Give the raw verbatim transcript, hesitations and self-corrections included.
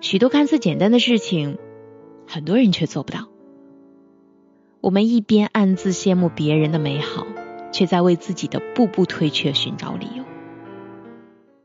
许多看似简单的事情，很多人却做不到。我们一边暗自羡慕别人的美好，却在为自己的步步退却寻找理由。